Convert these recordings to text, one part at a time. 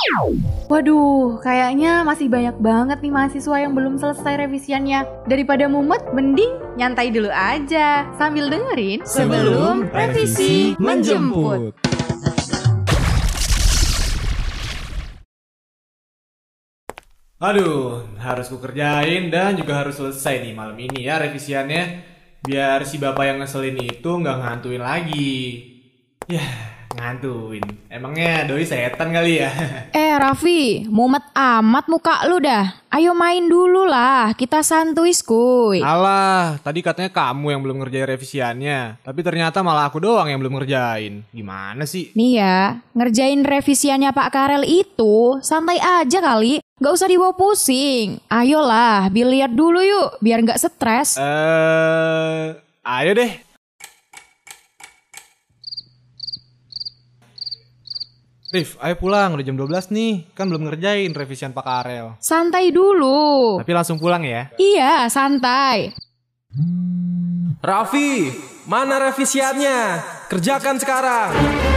Waduh, kayaknya masih banyak banget nih mahasiswa yang belum selesai revisiannya. Daripada mumet, mending nyantai dulu aja sambil dengerin Sebelum Revisi Menjemput. Aduh, harus ku kerjain dan juga harus selesai nih malam ini ya revisiannya. Biar si bapak yang ngeselin itu nggak ngantuin lagi. Yah, ngantuin. Emangnya doi setan kali ya? Raffi, mumet amat muka lu dah. Ayo main dulu lah, kita santuy skuy. Alah, tadi katanya kamu yang belum ngerjain revisiannya. Tapi ternyata malah aku doang yang belum ngerjain. Gimana sih? Nih ya, ngerjain revisiannya Pak Karel itu santai aja kali. Gak usah dibawa pusing. Ayolah, biliar dulu yuk, biar gak stres. Ayo deh. Rif, ayo pulang, udah jam 12 nih. Kan belum ngerjain revisian Pak Karel. Santai dulu. Tapi langsung pulang ya. Iya, santai. Raffi, mana revisiannya? Kerjakan sekarang.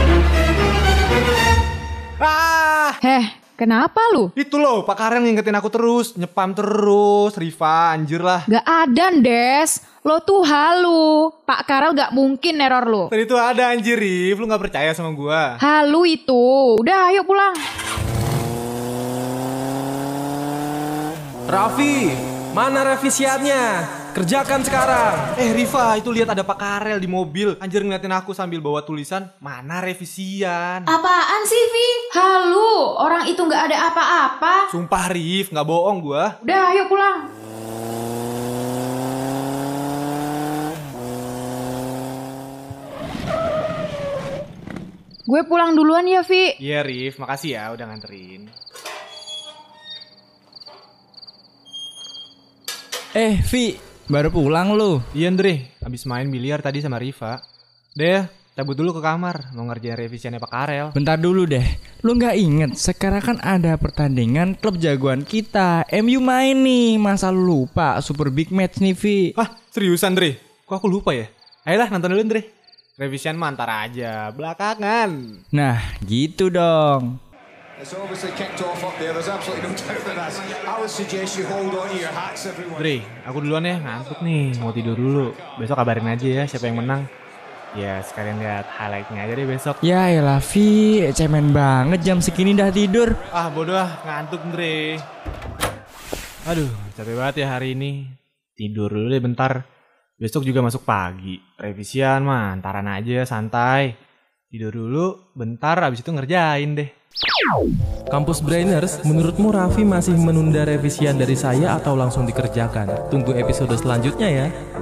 Kenapa lu? Itu loh, Pak Karel ngingetin aku terus. Nyepam terus, Riva, anjir lah. Gak ada, Des. Lo tuh halu. Pak Karel gak mungkin neror lo. Tadi tuh ada anjir, Rif. Lu gak percaya sama gua. Halu itu. Udah, ayo pulang. Raffi, mana revisiannya? Kerjakan sekarang. Riva, itu lihat ada Pak Karel di mobil. Anjir ngeliatin aku sambil bawa tulisan, mana revisian? Apaan sih, Vi? Halu, orang itu gak ada apa-apa. Sumpah, Rif, gak bohong gua. Udah, ayo pulang. Gue pulang duluan ya, Vi. Iya, Rif, makasih ya udah nganterin. Vi, baru pulang lu? Iya, Andre, abis main biliar tadi sama Riva. Deh, cabut dulu ke kamar, mau ngerjain revisiannya Pak Karel. Bentar dulu deh, lu gak inget sekarang kan ada pertandingan klub jagoan kita, MU main nih, masa lu lupa Super Big Match nih, Vi? Seriusan, Andre? Kok aku lupa ya? Ayolah, nonton dulu, Andre. Revisian mah ntar aja, belakangan. Nah, gitu dong. Dre, aku duluan ya, ngantuk nih, mau tidur dulu. Besok kabarin aja ya siapa yang menang. Ya sekalian lihat highlightnya aja deh besok. Ya elah Vi, cemen banget jam segini dah tidur. Bodoh ngantuk Dre. Aduh, capek banget ya hari ini. Tidur dulu deh bentar. Besok juga masuk pagi. Revisian mah antaran aja, santai. Tidur dulu, bentar abis itu ngerjain deh. Kampus Brainers, menurutmu Raffi masih menunda revisian dari saya atau langsung dikerjakan? Tunggu episode selanjutnya ya.